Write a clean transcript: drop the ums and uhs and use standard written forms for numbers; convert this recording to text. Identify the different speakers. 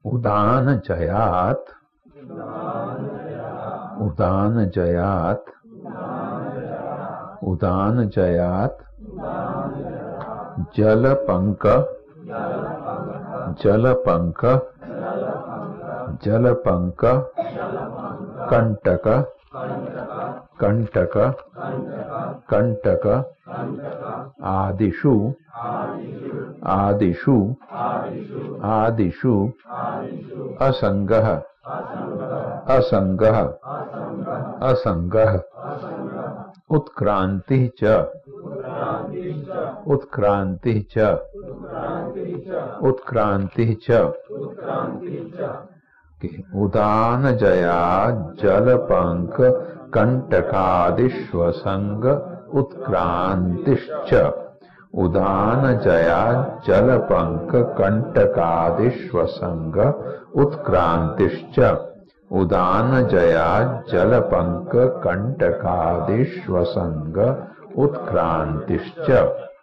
Speaker 1: उदान जयात उदान जयात उदान जयात जलपंक जलपंक जलपंक कंटक कंटक कंटक आदिषु आदिषु आदिषु असंगः असंगः असंगः उत्क्रांति च उत्क्रांति च उत्क्रांति च उदान जया जलपंक कंटकादिश्वसंग उत्क्रांतिश्च उदान जया जलपंक कंटकादिश्वसंग उत्क्रांतिश्च उदान जया जलपंक कंटकादिश्वसंग उत्क्रांतिश्च।